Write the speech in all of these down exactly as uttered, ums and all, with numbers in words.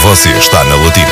Você está na Latina.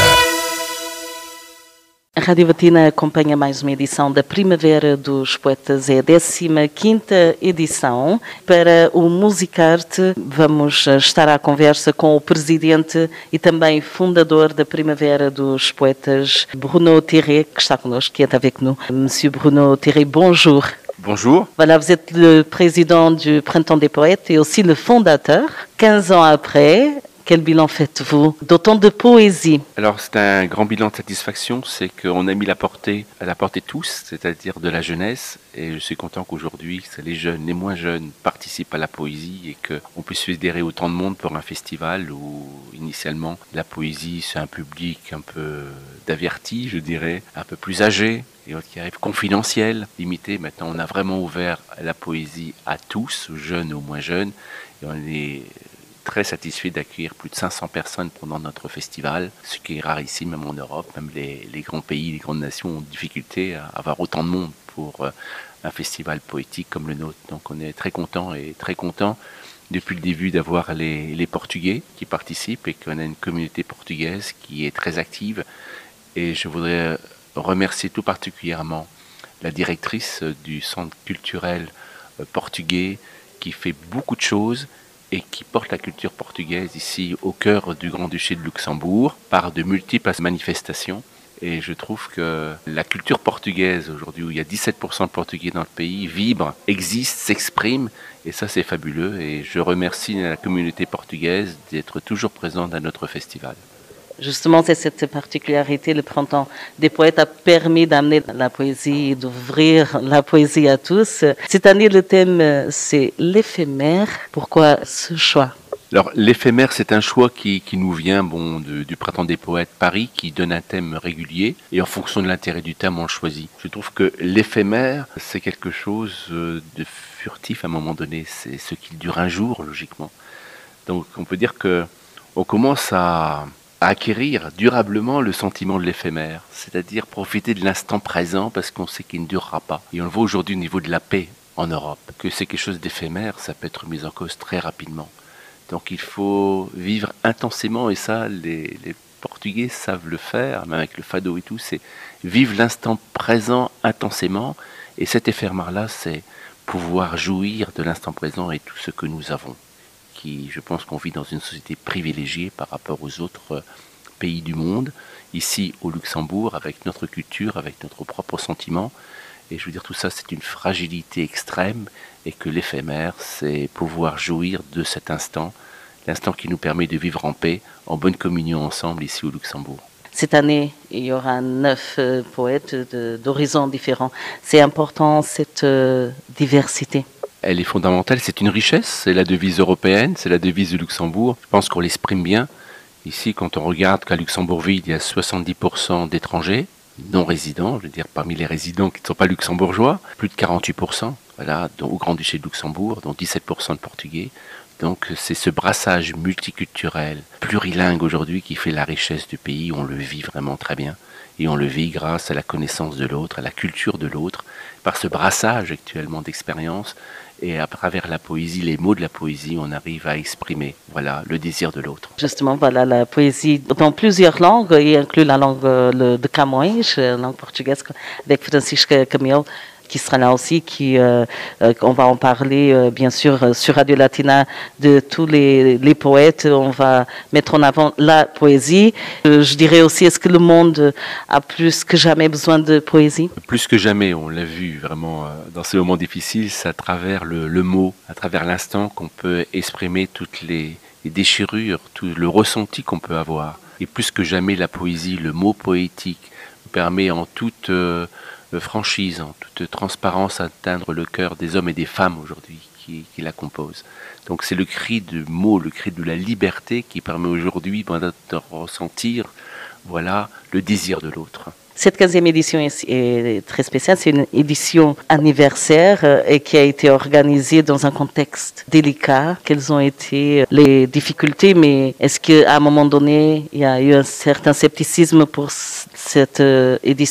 A Rádio Latina acompanha mais uma edição da Primavera dos Poetas, é a décima quinta edição. Para o Musicarte vamos estar à conversa com o presidente e também fundador da Primavera dos Poetas, Bruno Thierry, que está connosco, qui est avec nous. Monsieur Bruno Thierry, bonjour. Bonjour. Voilà, vous êtes le président du Printemps des Poètes et aussi le fondateur. quinze ans après, quel bilan faites-vous d'autant de poésie? Alors c'est un grand bilan de satisfaction, c'est qu'on a mis la portée à la portée de tous, c'est-à-dire de la jeunesse, et je suis content qu'aujourd'hui les jeunes, les moins jeunes participent à la poésie et qu'on puisse fédérer autant de monde pour un festival où initialement la poésie c'est un public un peu d'avertis, je dirais, un peu plus âgé, et qui arrive confidentiel, limité. Maintenant on a vraiment ouvert la poésie à tous, aux jeunes et aux moins jeunes, et on est très satisfait d'accueillir plus de cinq cents personnes pendant notre festival, ce qui est rare ici, même en Europe. Même les, les grands pays, les grandes nations ont difficulté à avoir autant de monde pour euh, un festival poétique comme le nôtre. Donc on est très content et très content depuis le début d'avoir les, les Portugais qui participent et qu'on a une communauté portugaise qui est très active. Et je voudrais remercier tout particulièrement la directrice du centre culturel portugais qui fait beaucoup de choses et qui porte la culture portugaise ici au cœur du Grand-Duché de Luxembourg par de multiples manifestations. Et je trouve que la culture portugaise aujourd'hui, où il y a dix-sept pour cent de Portugais dans le pays, vibre, existe, s'exprime, et ça c'est fabuleux. Et je remercie la communauté portugaise d'être toujours présente à notre festival. Justement, c'est cette particularité, le Printemps des Poètes a permis d'amener la poésie, d'ouvrir la poésie à tous. Cette année, le thème, c'est l'éphémère. Pourquoi ce choix? Alors, l'éphémère, c'est un choix qui, qui nous vient bon, de, du Printemps des Poètes Paris, qui donne un thème régulier, et en fonction de l'intérêt du thème, on le choisit. Je trouve que l'éphémère, c'est quelque chose de furtif à un moment donné. C'est ce qui dure un jour, logiquement. Donc, on peut dire que on commence à... à acquérir durablement le sentiment de l'éphémère, c'est-à-dire profiter de l'instant présent parce qu'on sait qu'il ne durera pas. Et on le voit aujourd'hui au niveau de la paix en Europe, que c'est quelque chose d'éphémère, ça peut être mis en cause très rapidement. Donc il faut vivre intensément, et ça, les, les Portugais savent le faire, même avec le fado et tout, c'est vivre l'instant présent intensément, et cet éphémère-là, c'est pouvoir jouir de l'instant présent et tout ce que nous avons. Qui, je pense qu'on vit dans une société privilégiée par rapport aux autres pays du monde, ici au Luxembourg, avec notre culture, avec notre propre sentiment. Et je veux dire, tout ça, c'est une fragilité extrême, et que l'éphémère, c'est pouvoir jouir de cet instant, l'instant qui nous permet de vivre en paix, en bonne communion ensemble ici au Luxembourg. Cette année, il y aura neuf euh, poètes d'horizons différents. C'est important, cette euh, diversité. Elle est fondamentale, c'est une richesse, c'est la devise européenne, c'est la devise du Luxembourg. Je pense qu'on l'exprime bien. Ici, quand on regarde qu'à Luxembourgville, il y a soixante-dix pour cent d'étrangers non résidents, je veux dire parmi les résidents qui ne sont pas luxembourgeois, plus de quarante-huit pour cent, voilà, dont, au Grand-Duché de Luxembourg, dont dix-sept pour cent de Portugais. Donc c'est ce brassage multiculturel, plurilingue aujourd'hui qui fait la richesse du pays, on le vit vraiment très bien. Et on le vit grâce à la connaissance de l'autre, à la culture de l'autre, par ce brassage actuellement d'expériences. Et à travers la poésie, les mots de la poésie, on arrive à exprimer voilà, le désir de l'autre. Justement, voilà, la poésie dans plusieurs langues, y inclut la langue le, de Camões, la langue portugaise, avec Francisca Camilo, qui sera là aussi, qui, euh, euh, on va en parler euh, bien sûr euh, sur Radio Latina de tous les, les poètes, on va mettre en avant la poésie. Euh, je dirais aussi, est-ce que le monde a plus que jamais besoin de poésie? Plus que jamais, on l'a vu vraiment euh, dans ces moments difficiles, c'est à travers le, le mot, à travers l'instant qu'on peut exprimer toutes les, les déchirures, tout le ressenti qu'on peut avoir. Et plus que jamais, la poésie, le mot poétique, nous permet en toute... Euh, franchise, en toute transparence, atteindre le cœur des hommes et des femmes aujourd'hui qui, qui la composent. Donc c'est le cri du mot, le cri de la liberté qui permet aujourd'hui de ressentir voilà, le désir de l'autre. Cette quinzième édition est, est très spéciale, c'est une édition anniversaire euh, et qui a été organisée dans un contexte délicat. Quelles ont été les difficultés, mais est-ce qu'à un moment donné, il y a eu un certain scepticisme pour cette euh, édition?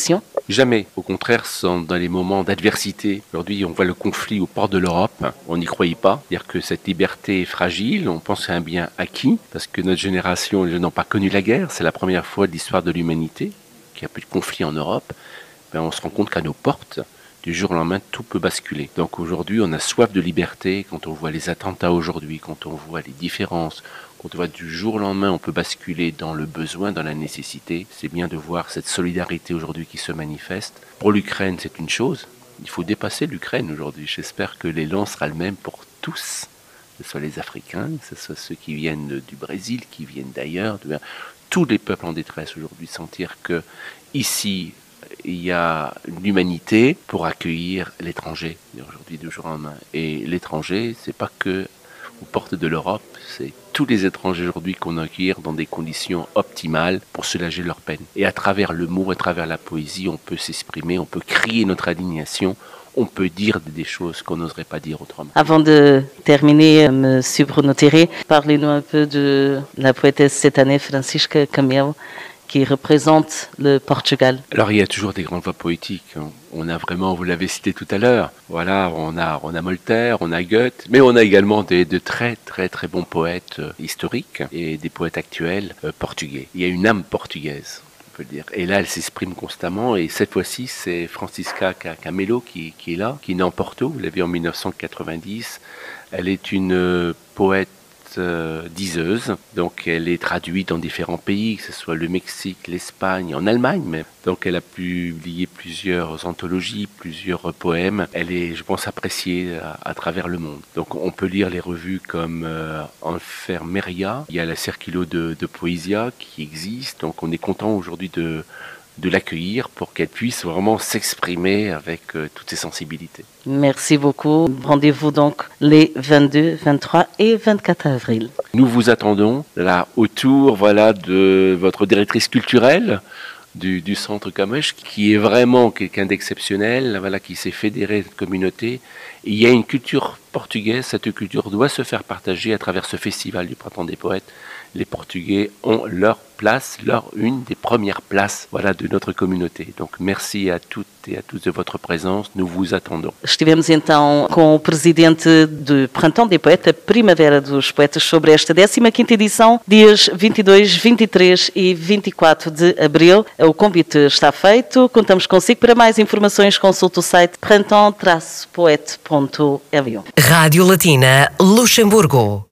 Jamais. Au contraire, sont dans les moments d'adversité. Aujourd'hui, on voit le conflit aux portes de l'Europe. On n'y croyait pas. C'est-à-dire que cette liberté est fragile. On pense à un bien acquis parce que notre génération, les jeunes n'ont pas connu la guerre. C'est la première fois de l'histoire de l'humanité qu'il n'y a plus de conflit en Europe. Ben, on se rend compte qu'à nos portes, du jour au lendemain, tout peut basculer. Donc aujourd'hui, on a soif de liberté. Quand on voit les attentats aujourd'hui, quand on voit les différences, quand on voit du jour au lendemain, on peut basculer dans le besoin, dans la nécessité. C'est bien de voir cette solidarité aujourd'hui qui se manifeste. Pour l'Ukraine, c'est une chose. Il faut dépasser l'Ukraine aujourd'hui. J'espère que l'élan sera le même pour tous, que ce soit les Africains, que ce soit ceux qui viennent du Brésil, qui viennent d'ailleurs. Tous les peuples en détresse aujourd'hui, sentir que ici, il y a l'humanité pour accueillir l'étranger, aujourd'hui du jour au lendemain. Et l'étranger, c'est pas que aux portes de l'Europe, c'est tous les étrangers aujourd'hui qu'on accueille dans des conditions optimales pour soulager leur peine. Et à travers le mot, à travers la poésie, on peut s'exprimer, on peut crier notre indignation, on peut dire des choses qu'on n'oserait pas dire autrement. Avant de terminer, Monsieur Bruno Théré, parlez-nous un peu de la poétesse cette année, Francisca Camelo, qui représente le Portugal. Alors il y a toujours des grandes voix poétiques. On a vraiment, vous l'avez cité tout à l'heure, voilà, on a, on a Voltaire, on a Goethe, mais on a également des, de très très très bons poètes euh, historiques et des poètes actuels euh, portugais. Il y a une âme portugaise, on peut le dire. Et là, elle s'exprime constamment. Et cette fois-ci, c'est Francisca Camelo qui, qui est là, qui est née en Porto. Vous l'avez en mille neuf cent quatre-vingt-dix. Elle est une euh, poète Euh, diseuse, donc elle est traduite dans différents pays, que ce soit le Mexique, l'Espagne, en Allemagne même. Donc elle a publié plusieurs anthologies, plusieurs poèmes. Elle est, je pense, appréciée à, à travers le monde. Donc on peut lire les revues comme euh, Enfermeria, il y a la Circulo de, de Poesia qui existe, donc on est content aujourd'hui de de l'accueillir pour qu'elle puisse vraiment s'exprimer avec euh, toutes ses sensibilités. Merci beaucoup. Rendez-vous donc les vingt-deux, vingt-trois et vingt-quatre avril. Nous vous attendons là autour voilà, de votre directrice culturelle du, du Centre Camões, qui est vraiment quelqu'un d'exceptionnel, voilà, qui s'est fédéré cette communauté. Et il y a une culture portugaise, cette culture doit se faire partager à travers ce festival du Printemps des Poètes. Les Portugais ont leur place, leur une des premières places voilà, de notre communauté. Donc merci à toutes e a tous de votre presença, nous vous attendons. Estivemos então com o presidente do Printemps des Poètes, a Primavera dos Poetas, sobre esta décima quinta edição, dias vinte e dois, vinte e três e vinte e quatro de abril. O convite está feito, contamos consigo. Para mais informações, consulte o site printemps poete ponto l u. Rádio Latina Luxemburgo.